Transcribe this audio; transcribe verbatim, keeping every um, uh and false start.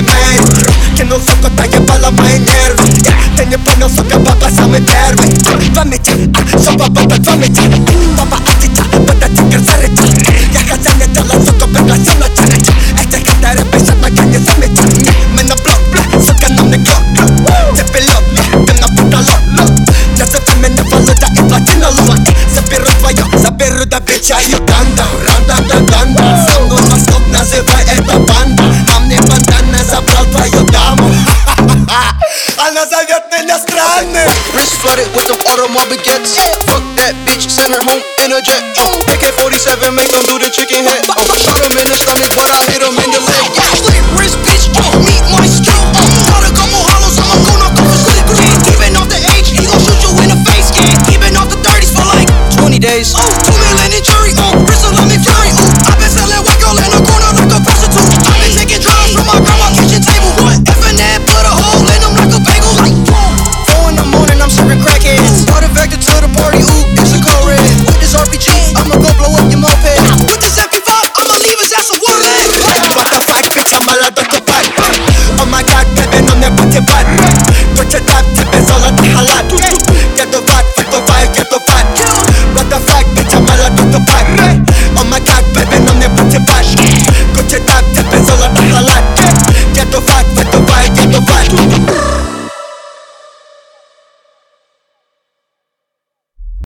белый мейн. Кинул суку, так ебало мои нервы. Ты не понял, сука, папа самый первый. Два меча, все папа, два меча. Папа атита, это тигр зарыча. Я хозяин дела, сука, пригласил на челлендж. Эти катеры пишут, пока не замечат. Мы на блок, бля, сука, нам не клок. Ты пилот, ты на потолок. Назови меня Володя и плати налог. Заберу твое, заберу до бича Юганда. Ранда-да-данда. Со мной Москов, называй это банда. А мне бандана забрал твою даму. Она зовет меня странным. Wrist flooded with them automobile gets. Fuck that bitch, send her home in a jet. A K forty-seven make them do the chicken head. Shoot him in the stomach, but I hit him in the leg. Wrist